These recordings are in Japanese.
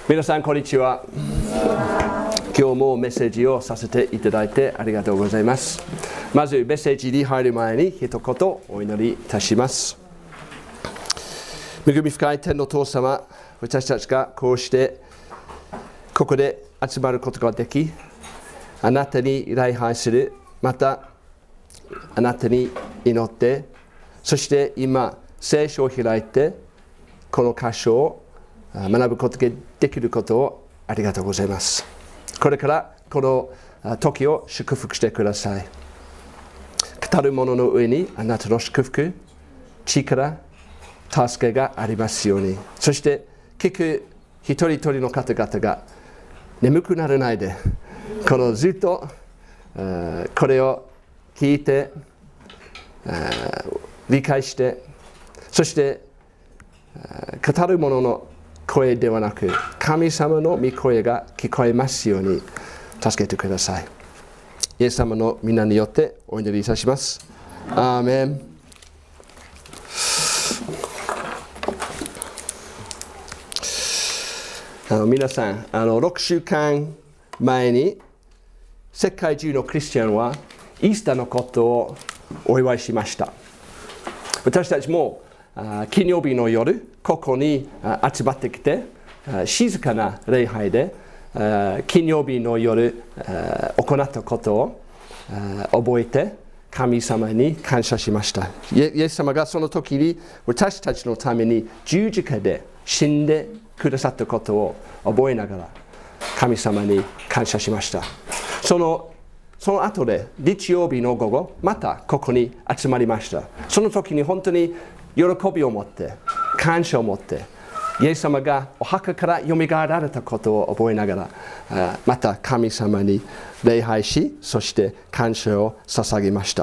皆さんこんにちは。今日もメッセージをさせていただいてありがとうございます。まずメッセージに入る前に一言お祈りいたします。恵み深い天の父様、私たちがこうしてここで集まることができ、あなたに礼拝する、またあなたに祈って、そして今聖書を開いてこの箇所を学ぶことができることをありがとうございます。これからこの時を祝福してください。語る者の上にあなたの祝福、力、助けがありますように。そして聞く一人一人の方々が眠くならないで、このずっとこれを聞いて理解して、そして語る者の声ではなく神様の御声が聞こえますように助けてください。イエス様の皆によってお祈りいたします。アーメン。皆さん、6週間前に世界中のクリスチャンはイースターのことをお祝いしました。私たちも金曜日の夜、ここに集まってきて、静かな礼拝で金曜日の夜行ったことを覚えて神様に感謝しました。イエス様がその時に私たちのために十字架で死んでくださったことを覚えながら神様に感謝しました。その後で日曜日の午後、またここに集まりました。その時に本当に喜びを持って、感謝を持って、イエス様がお墓からよみがえられたことを覚えながら、また神様に礼拝し、そして感謝を捧げました。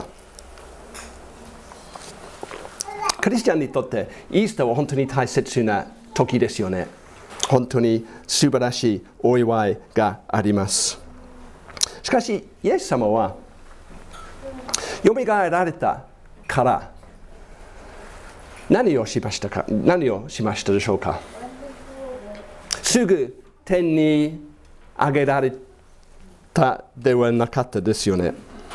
クリスチャンにとってイースターは本当に大切な時ですよね。本当に素晴らしいお祝いがあります。しかし、イエス様はよみがえられたから何をしましたでしょうか。すぐ天に上げられたではなかったですよね。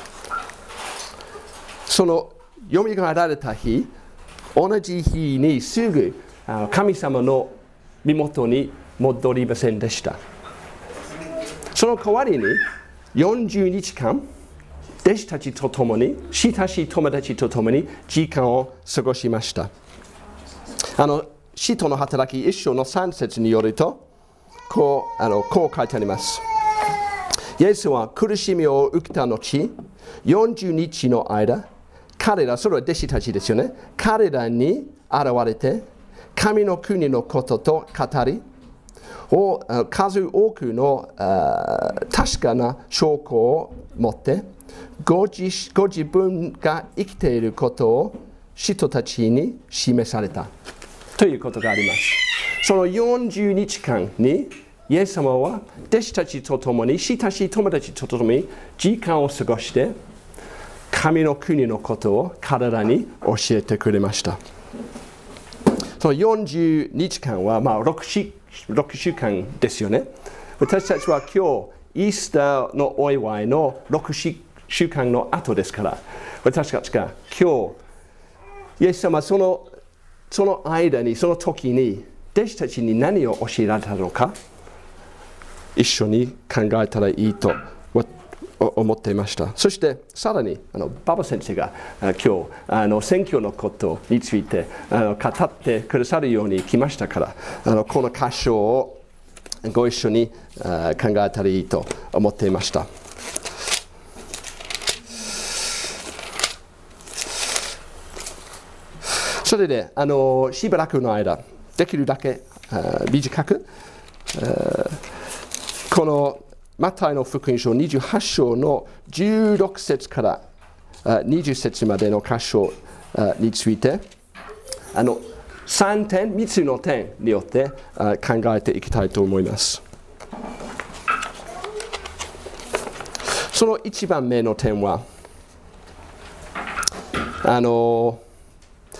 そのよみがえられた日、同じ日にすぐ神様の身元に戻りませんでした。その代わりに40日間弟子たちと共に、親しい友達と共に時間を過ごしました。使徒の働き1章の3節によると、こう書いてあります。イエスは苦しみを受けた後、40日の間、彼ら、それは弟子たちですよね。彼らに現れて、神の国のことと語り、数多くの確かな証拠を持って、ご自分が生きていることを人たちに示されたということがあります。その40日間にイエス様は弟子たちと共に、親しい友達と共に時間を過ごして、神の国のことを彼らに教えてくれました。その40日間は、6週間ですよね。私たちは今日イースターのお祝いの6週間の後ですから、私たちが今日イエス様はその間に、その時に弟子たちに何を教えられたのか、一緒に考えたらいいと思っていました。そしてさらに馬場先生が今日選挙のことについて語ってくださるように来ましたから、この箇所をご一緒に考えたらいいと思っていました。それでしばらくの間、できるだけ短くこのマタイの福音書28章の16節から20節までの箇所について3つの点によって考えていきたいと思います。その1番目の点は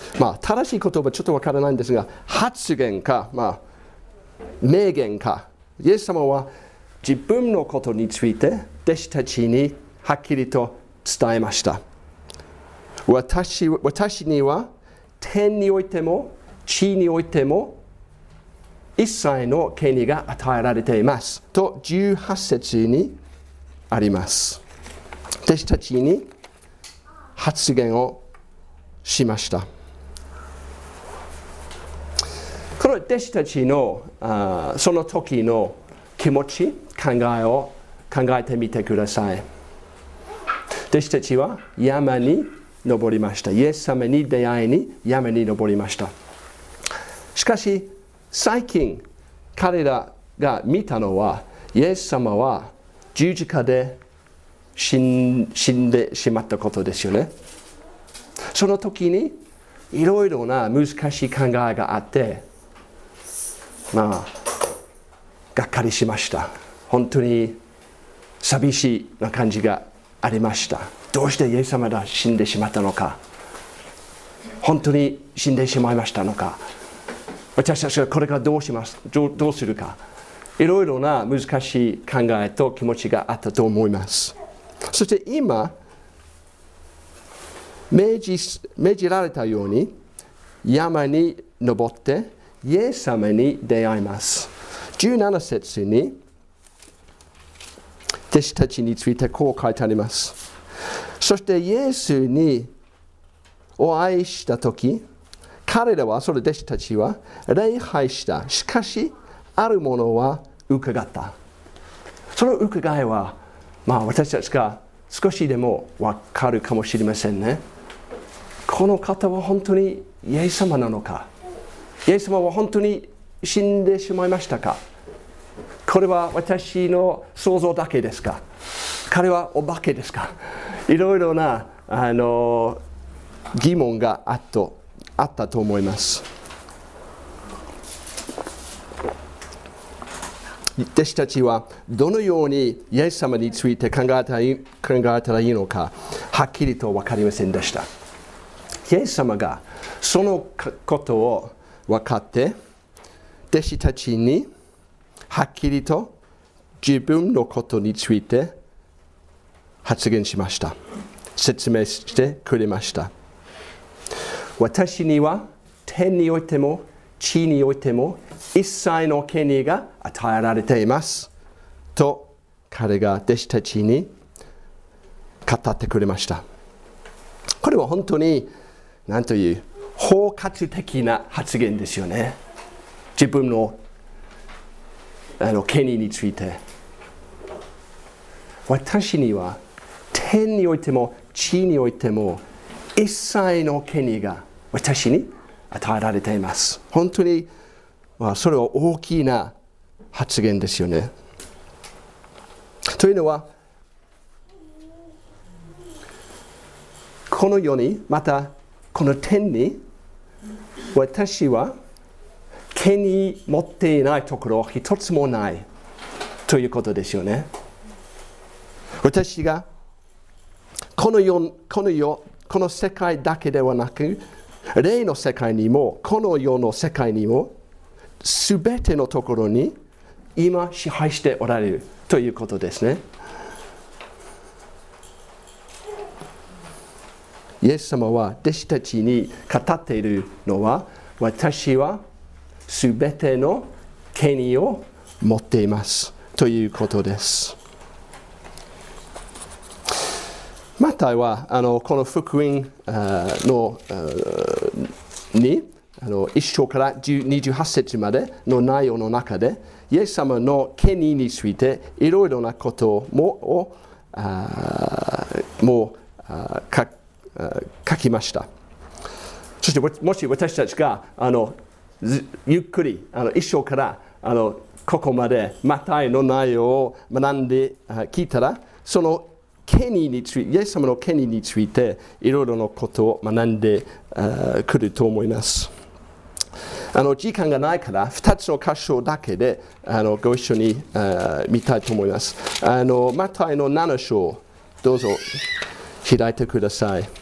正しい言葉ちょっとわからないんですが、発言か、名言かイエス様は自分のことについて弟子たちにはっきりと伝えました。私には天においても地においても一切の権利が与えられていますと18節にあります。弟子たちに発言をしました。この弟子たちのその時の気持ち、考えてみてください。弟子たちは山に登りました。イエス様に出会いに山に登りました。しかし最近彼らが見たのはイエス様は十字架で死んでしまったことですよね。その時にいろいろな難しい考えがあってがっかりしました。本当に寂しいな感じがありました。どうしてイエス様が死んでしまったのか、本当に死んでしまいましたのか、私たちはこれからどうするか、いろいろな難しい考えと気持ちがあったと思います。そして今命じられたように山に登ってイエス様に出会います。17節に弟子たちについてこう書いてあります。そしてイエスにお会いしたとき、彼らは、それ弟子たちは礼拝した。しかし、あるものは伺った。その伺いは、私たちが少しでも分かるかもしれませんね。この方は本当にイエス様なのか、イエス様は本当に死んでしまいましたか、これは私の想像だけですか、彼はお化けですか、いろいろな疑問があったと思います。弟子たちはどのようにイエス様について考えたらいいのかはっきりと分かりませんでした。イエス様がそのことを分かって弟子たちにはっきりと自分のことについて発言しました。説明してくれました。私には天においても地においても一切の権利が与えられていますと彼が弟子たちに語ってくれました。これは本当に何という包括的な発言ですよね。自分の権利について、私には天においても地においても一切の権利が私に与えられています。本当にそれは大きな発言ですよね。というのはこの世にまたこの天に私は権利持っていないところ一つもないということですよね。私がこの世界だけではなく霊の世界にもこの世の世界にもすべてのところに今支配しておられるということですね。イエス様は弟子たちに語っているのは、私はすべての権利を持っていますということです。マタイはこの福音のに1章から28節までの内容の中でイエス様の権利についていろいろなことも書きました。そしてもし私たちがゆっくり1章からここまでマタイの内容を学んで聞いたら、その権利について、イエス様の権利についていろいろなことを学んでくると思います。時間がないから2つの箇所だけでご一緒に見たいと思います。マタイの7章どうぞ開いてください。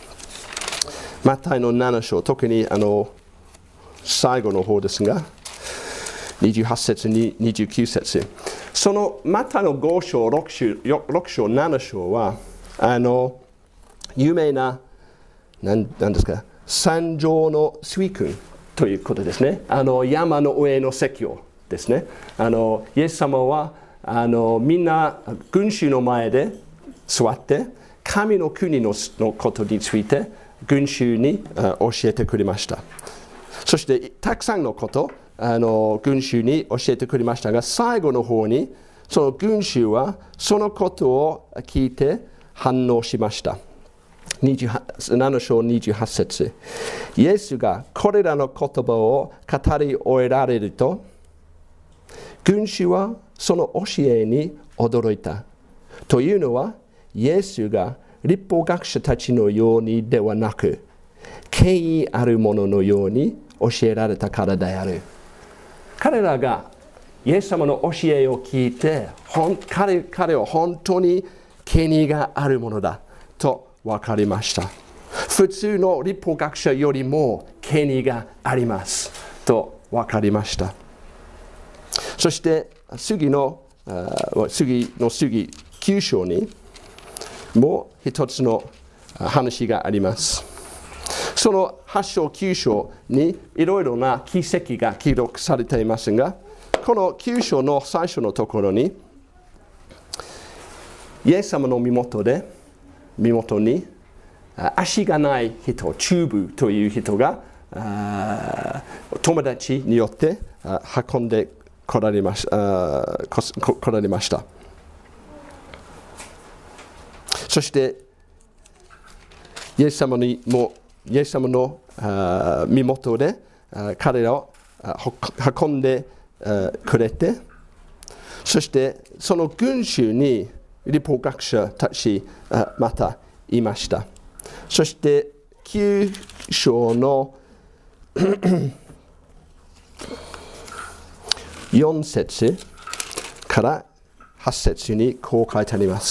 マタイの7章、特に最後の方ですが、 28節に29節。そのマタイの5章、6章、7章は、有名な、何ですか、山上の水訓ということですね。山の上の説教ですね。イエス様はみんな群衆の前で座って、神の国のことについて群衆に教えてくれました。そしてたくさんのこと群衆に教えてくれましたが、最後の方にその群衆はそのことを聞いて反応しました。7章28節。イエスがこれらの言葉を語り終えられると、群衆はその教えに驚いた。というのは、イエスが律法学者たちのようにではなく、権威あるもののように教えられたからである。彼らがイエス様の教えを聞いて、彼は本当に権威があるものだと分かりました。普通の律法学者よりも権威がありますと分かりました。そして次の9章にもう一つの話があります。その8章9章にいろいろな奇跡が記録されていますが、この9章の最初のところに、イエス様の身元に足がない人、チューブという人が友達によって運んで来られました。そしてイエス様の身元で彼らを運んでくれて、そしてその群衆に律法学者たちまたいました。そして9章の4節から8節にこう書いてあります。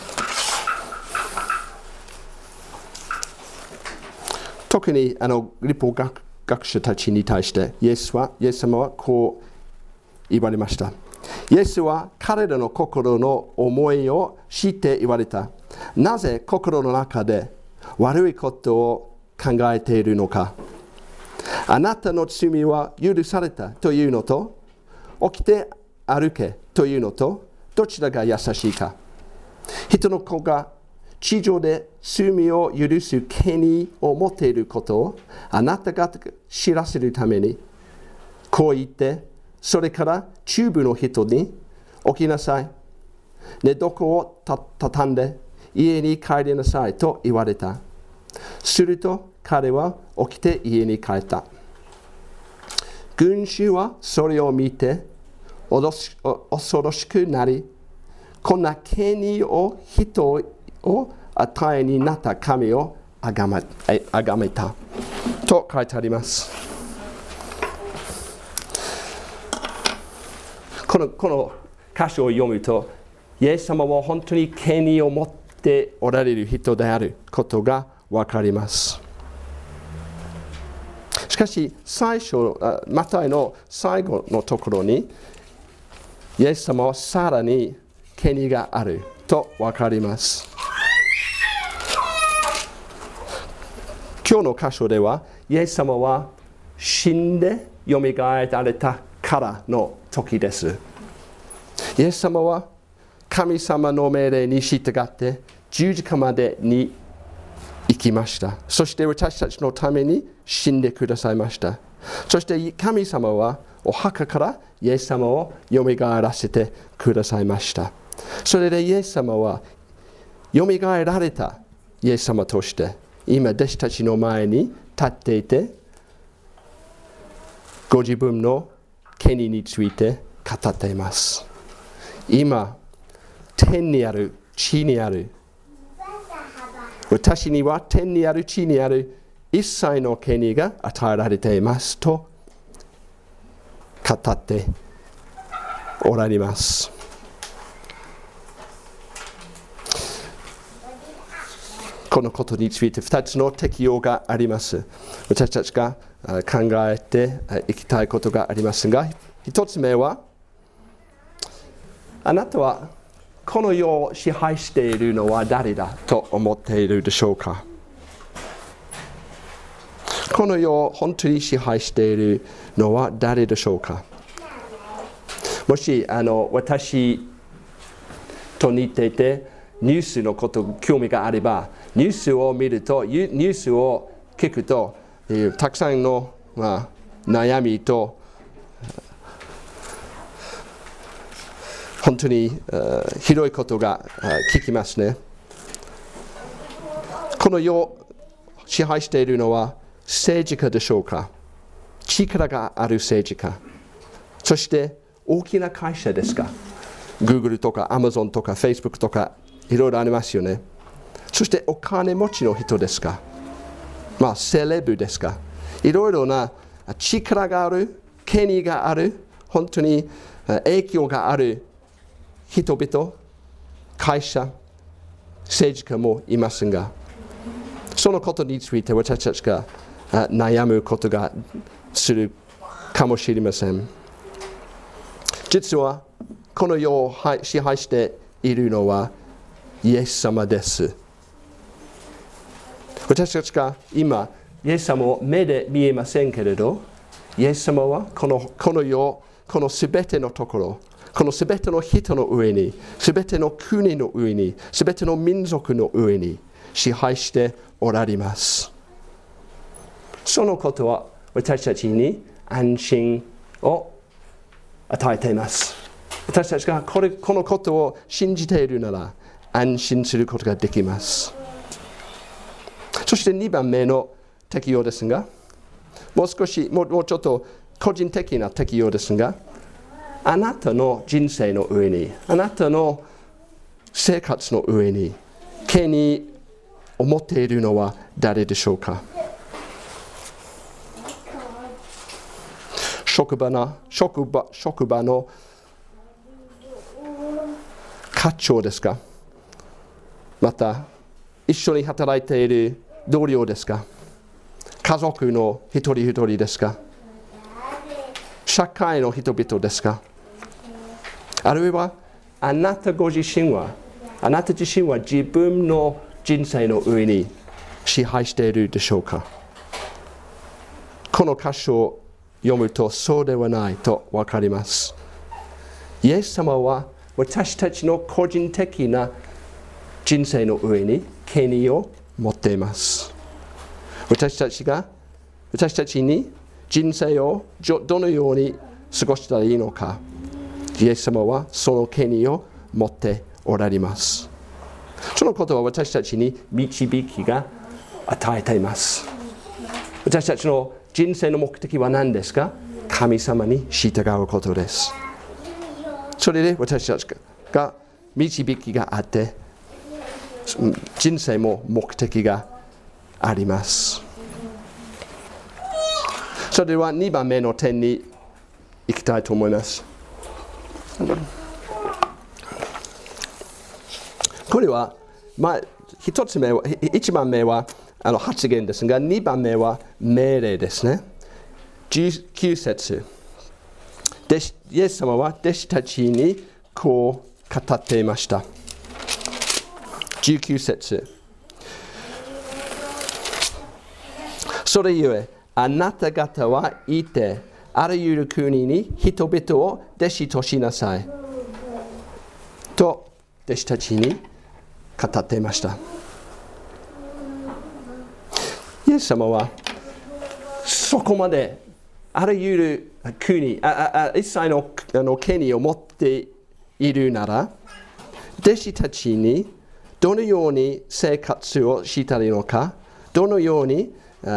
特に律法学者たちに対してイエス様はこう言われました。イエスは彼らの心の思いを知って言われた。なぜ心の中で悪いことを考えているのか。あなたの罪は許されたというのと、起きて歩けというのと、どちらが優しいか。人の子が地上で罪を許す権威を持っていることをあなたが知らせるために、こう言って、それから中部の人に起きなさい。寝床を畳んで家に帰りなさいと言われた。すると彼は起きて家に帰った。群衆はそれを見て恐ろしくなり、こんな権威を人を与えになった神をあがめたと書いてあります。この箇所を読むと、イエス様は本当に権威を持っておられる人であることが分かります。しかしマタイの最後のところに、イエス様はさらに権威があると分かります。今日の箇所では、イエス様は死んでよみがえられたからの時です。イエス様は神様の命令に従って十字架までに行きました。そして私たちのために死んでくださいました。そして神様はお墓からイエス様をよみがえらせてくださいました。それでイエス様はよみがえられたイエス様として今弟子たちの前に立っていて、ご自分の権威について語っています。今、天にある、地にある、私には天にある、地にある一切の権威が与えられていますと語っておられます。このことについて2つの適用があります。私たちが考えていきたいことがありますが、一つ目は、あなたはこの世を支配しているのは誰だと思っているでしょうか。この世を本当に支配しているのは誰でしょうか。もし私と似ていてニュースのことに興味があれば、ニュースを見ると、ニュースを聞くと、たくさんの、悩みと本当にひどいことが聞きますね。この世を支配しているのは政治家でしょうか。力がある政治家。そして大きな会社ですか。Google とか Amazon とか Facebook とかいろいろありますよね。そしてお金持ちの人ですか。セレブですか。いろいろな力がある、権威がある、本当に影響がある人々、会社、政治家もいますが、そのことについて私たちが悩むことがするかもしれません。実はこの世を支配しているのはイエス様です。私たちが今イエス様を目で見えませんけれど、イエス様はこの世、このすべてのところ、このすべての人の上に、すべての国の上に、すべての民族の上に支配しておられます。そのことは私たちに安心を与えています。私たちがこのことを信じているなら安心することができます。そして2番目の適用ですが、もうちょっと個人的な適用ですが、あなたの人生の上に、あなたの生活の上に権威を持っているのは誰でしょうか。職場の課長ですか。また一緒に働いている同僚ですか。家族の一人一人ですか。社会の人々ですか。あるいはあなた自身は自分の人生の上に支配しているでしょうか。この箇所を読むとそうではないと分かります。イエス様は私たちの個人的な人生の上に権威を持っています。私たちに人生をどのように過ごしたらいいのか、イエス様はその権威を持っておられます。そのことは私たちに導きが与えています。私たちの人生の目的は何ですか？神様に従うことです。それで私たちが導きがあって、人生も目的があります。それでは2番目の点に行きたいと思います。これは、1番目は発言ですが、2番目は命令ですね。19節。イエス様は弟子たちにこう語っていました。19節。それゆえ、あなた方は行って、あらゆる国に人々を弟子としなさい。と、弟子たちに語っていました。イエス様は、そこまであらゆる国、一切の権威を持っているなら、弟子たちにどのように生活をしたらいいのか、どのように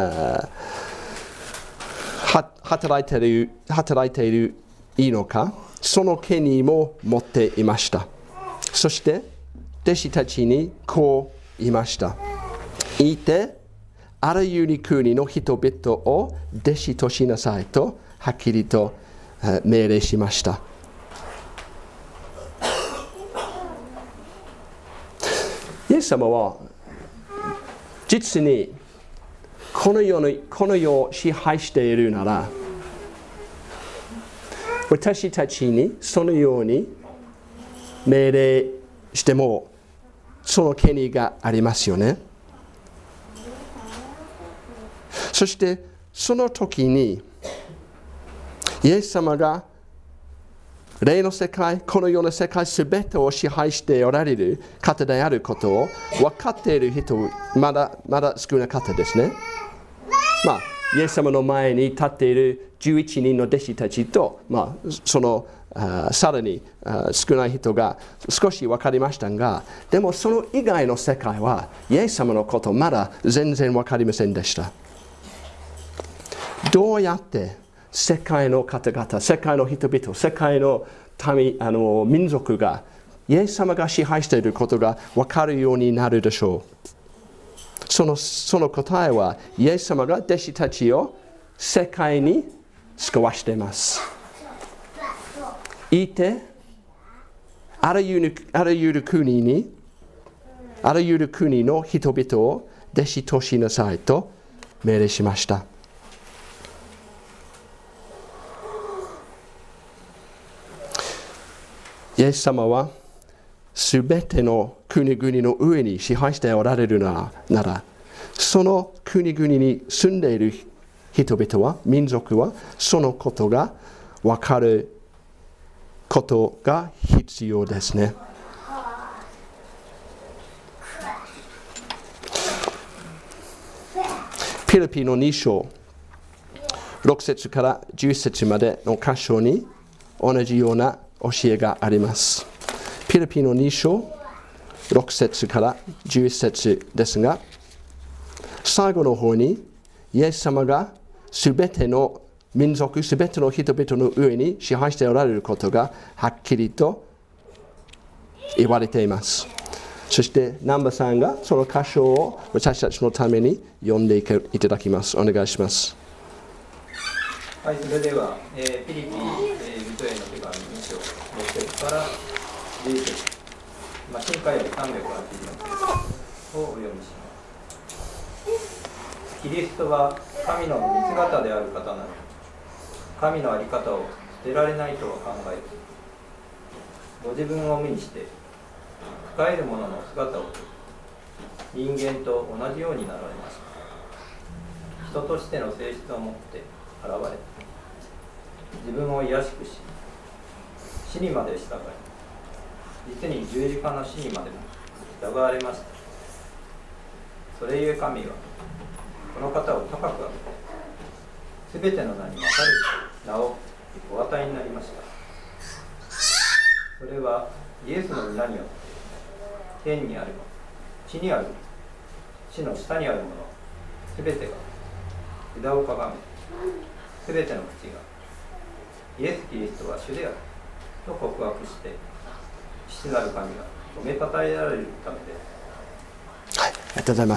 働いているいいのか、その権威も持っていました。そして弟子たちにこう言いました。いてあらゆる国の人々を弟子としなさいとはっきりと命令しました。イエス様は実にこの世を支配しているなら、私たちにそのように命令してもその権利がありますよね。そしてその時にイエス様が霊の世界、この世の世界すべてを支配しておられる方であることを分かっている人まだ少なかったですね。イエス様の前に立っている11人の弟子たちと、そのさらに少ない人が少し分かりましたが、でもその以外の世界はイエス様のことまだ全然分かりませんでした。どうやって世界の方々、世界の人々、世界の民族がイエス様が支配していることが分かるようになるでしょう。その答えは、イエス様が弟子たちを世界に救わしています。いて、あらゆる国の人々を弟子としなさいと命令しました。イエス様はすべての国々の上に支配しておられるなら、その国々に住んでいる人々は、民族は、そのことが分かることが必要ですね。ピリピの2章、6節から10節までの箇所に同じような教えがあります。ピリピの2章、6節から11節ですが、最後の方にイエス様がすべての民族、すべての人々の上に支配しておられることがはっきりと言われています。そして南波さんがその箇所を私たちのために読んでいただきます。お願いします。 はい、それでは、ピリピ人への手紙2章6節から11節、新海より384節をお読みします。キリストは神の御姿である方なので、神の在り方を捨てられないとは考えず、ご自分を無にして深える者の姿をとり、人間と同じようになられました。人としての性質を持って現れ、自分を卑しくし、死にまで従い、実に十字架の死にまでも従われました。それゆえ神はこの方を高く上げて、すべての名に勝る名をお与えになりました。それはイエスの皆によって天にあるもの、地にあるもの、地の下にあるもの、すべてが枝をかがめ、すべての口がイエス・キリストは主であると告白して、父なる神が褒めたたえられるためです。 はい、ありがとうございます。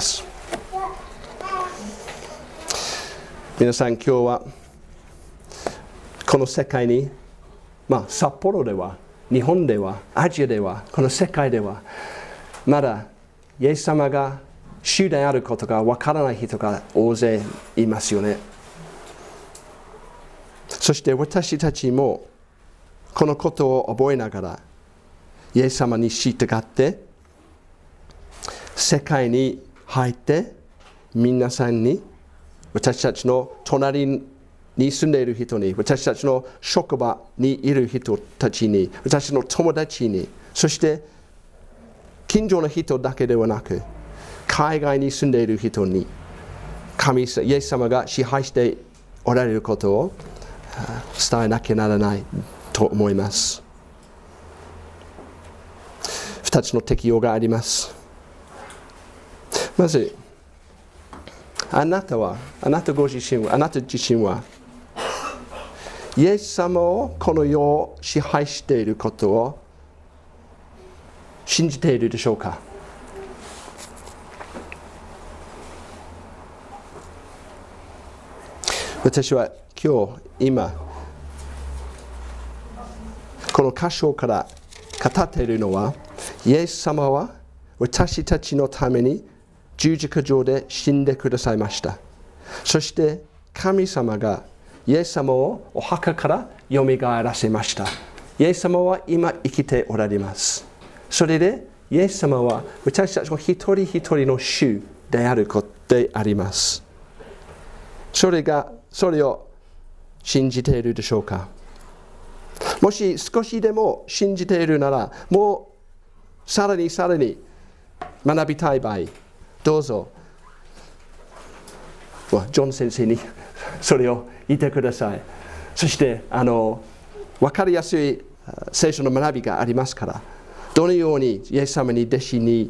皆さん、今日はこの世界に、札幌では、日本では、アジアでは、この世界では、まだイエス様が主であることがわからない人が大勢いますよね。そして私たちもこのことを覚えながら、イエス様に従って世界に入って、皆さんに、私たちの隣に住んでいる人に、私たちの職場にいる人たちに、私の友達に、そして近所の人だけではなく、海外に住んでいる人に、イエス様が支配しておられることを伝えなきゃならないと思います。2つの適用があります。まず、あなたご自身は、イエス様をこの世を支配していることを信じているでしょうか？私は今、この箇所から語っているのは、イエス様は私たちのために十字架上で死んでくださいました。 そして神様がイエス様をお墓からよみがえらせました。イエス様は今生きておられます。それでイエス様は私たちの一人一人の主であることであります。それを信じているでしょうか。もし少しでも信じているなら、もうさらに学びたい場合、どうぞジョン先生にそれを言ってください。そして分かりやすい聖書の学びがありますから、どのようにイエス様に弟子に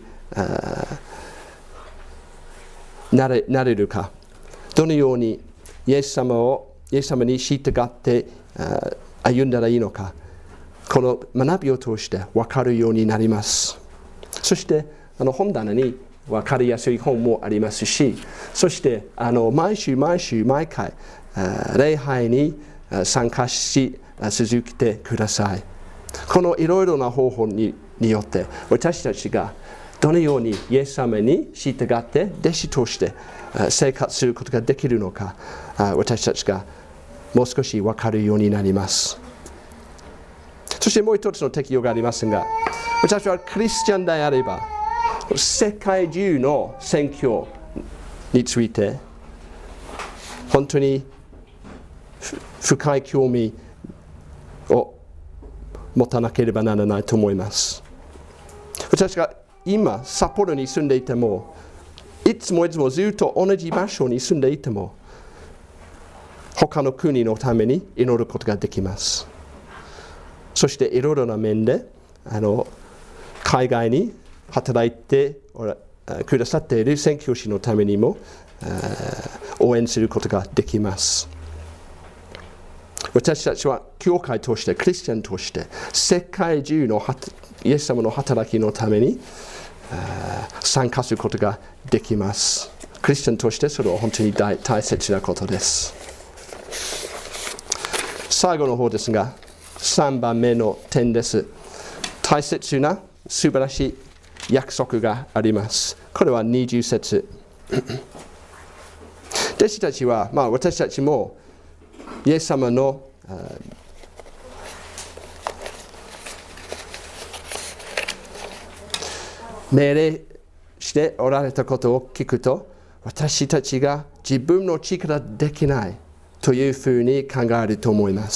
なれるか、どのようにイエス様に従って歩んだらいいのか、この学びを通して分かるようになります。そして本棚に分かりやすい本もありますし、そして毎回礼拝に参加し続けてください。このいろいろな方法によって私たちがどのようにイエス様に従って弟子として生活することができるのか、私たちがもう少し分かるようになります。そしてもう一つの適用がありますが、私はクリスチャンであれば世界中の宣教について本当に深い興味を持たなければならないと思います。私が今札幌に住んでいても、いつもずっと同じ場所に住んでいても、他の国のために祈ることができます。そしていろいろな面で海外に働いてくださっている宣教師のためにも応援することができます。私たちは教会として、クリスチャンとして世界中のイエス様の働きのために参加することができます。クリスチャンとしてそれは本当に大切なことです。最後の方ですが、3番目の点です。大切な素晴らしい約束があります。これは20節。弟子たちは、私たちもイエス様の命令しておられたことを聞くと、私たちが自分の力できないというふうに考えると思います。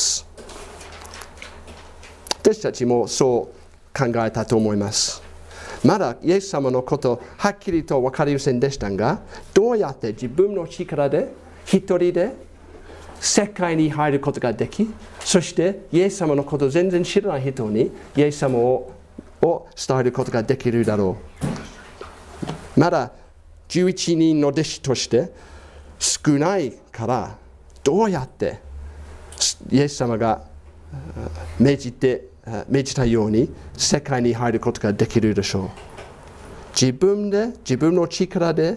私たちもそう考えたと思います。まだイエス様のことはっきりと分かりませんでしたが、どうやって自分の力で一人で世界に入ることができ、そしてイエス様のことを全然知らない人にイエス様を伝えることができるだろう。まだ11人の弟子として少ないから、どうやってイエス様が命じたように世界に入ることができるでしょう。自分の力で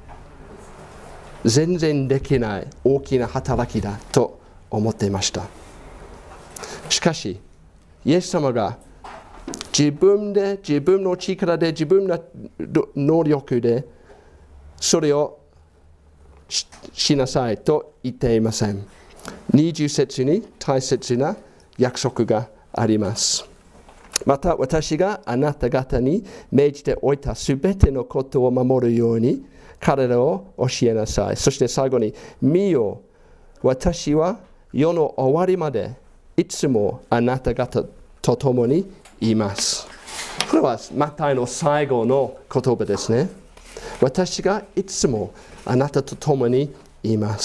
全然できない大きな働きだと思っていました。しかしイエス様が自分の力で、自分の能力でそれを しなさいと言っていません。20節に大切な約束があります。また私があなた方に命じておいたすべてのことを守るように彼らを教えなさい。そして最後に、見よ、私は世の終わりまでいつもあなた方と共にいます。これはマタイの最後の言葉ですね。私がいつもあなたと共にいます。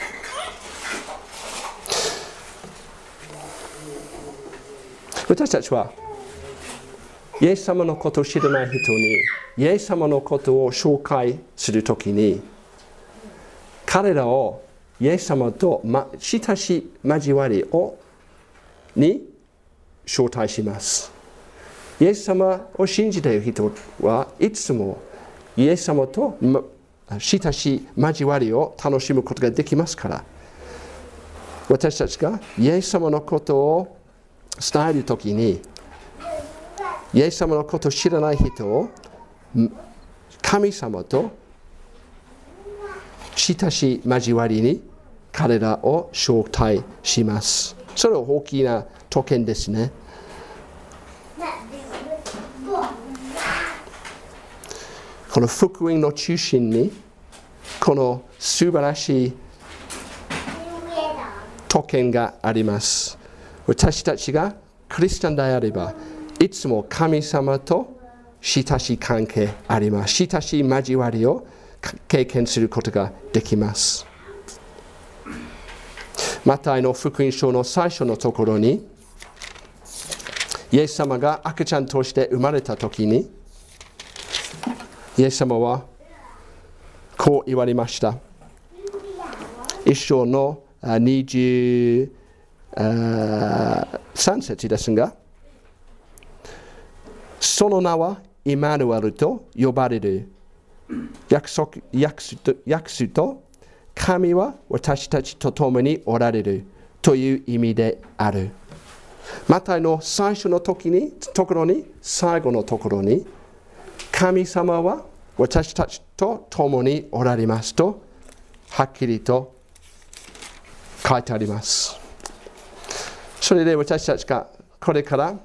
私たちはイエス様のことを知らない人にイエス様のことを紹介するときに、彼らをイエス様と親しい交わりに招待します。イエス様を信じている人はいつもイエス様と親しい交わりを楽しむことができますから、私たちがイエス様のことを伝えるときに、イエス様のことを知らない人を神様と親しい交わりに彼らを招待します。それは大きな特権ですね。この福音の中心にこの素晴らしい特権があります。私たちがクリスチャンであればいつも神様と親しい関係あります。親しい交わりを経験することができます。マタイの福音書の最初のところに、イエス様が赤ちゃんとして生まれたときに、イエス様はこう言われました。一章の23節ですが、その名はイマヌエルと呼ばれる。訳すと、神は私たちと共におられるという意味である。マタイの最初のところに、最後のところに、神様は私たちと共におられますと、はっきりと書いてあります。それで私たちがこれから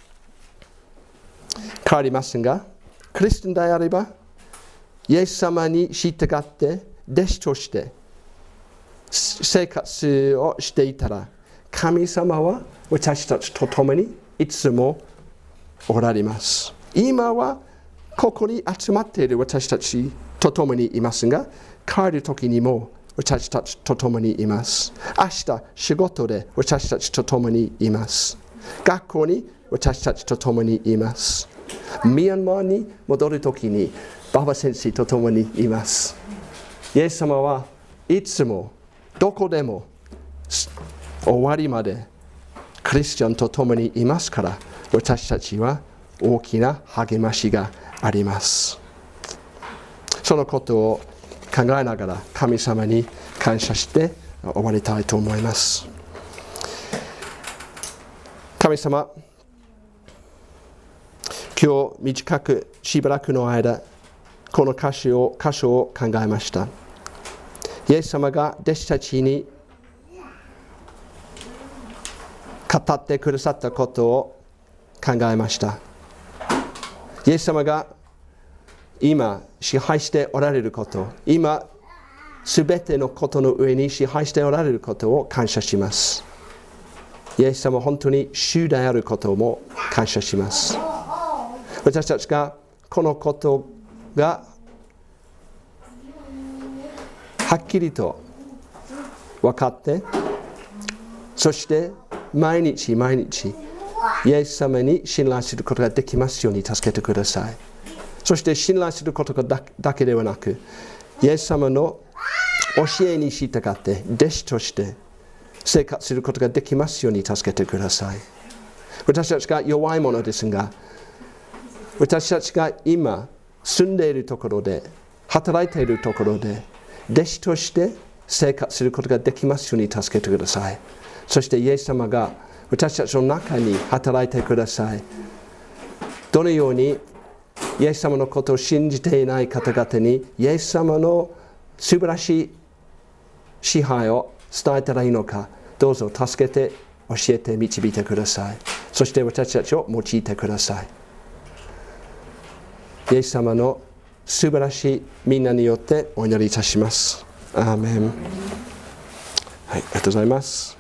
変わりますが、クリスチャンであれば、イエス様に従って弟子として生活をしていたら、神様は私たちと共にいつもおられます。今はここに集まっている私たちと共にいますが、帰る時にも私たちと共にいます。明日仕事で私たちと共にいます。学校に私たちと共にいます。ミャンマーに戻る時にババ先生と共にいます。イエス様はいつもどこでも終わりまでクリスチャンと共にいますから、私たちは大きな励ましがあります。そのことを考えながら神様に感謝して終わりたいと思います。神様、今日短くしばらくの間、この箇所を考えました。イエス様が弟子たちに語ってくださったことを考えました。イエス様が今支配しておられること、今すべてのことの上に支配しておられることを感謝します。イエス様本当に主であることも感謝します。私たちがこのことがはっきりと分かって、そして毎日毎日イエス様に信頼することができますように助けてください。そして信頼することだけではなく、イエス様の教えに従って弟子として生活することができますように助けてください。私たちが弱いものですが、私たちが今住んでいるところで、働いているところで弟子として生活することができますように助けてください。そしてイエス様が私たちの中に働いてください。どのようにイエス様のことを信じていない方々にイエス様の素晴らしい支配を伝えたらいいのか、どうぞ助けて教えて導いてください。そして私たちを用いてください。イエス様の素晴らしいみんなによってお祈りいたします。アーメン。はい、ありがとうございます。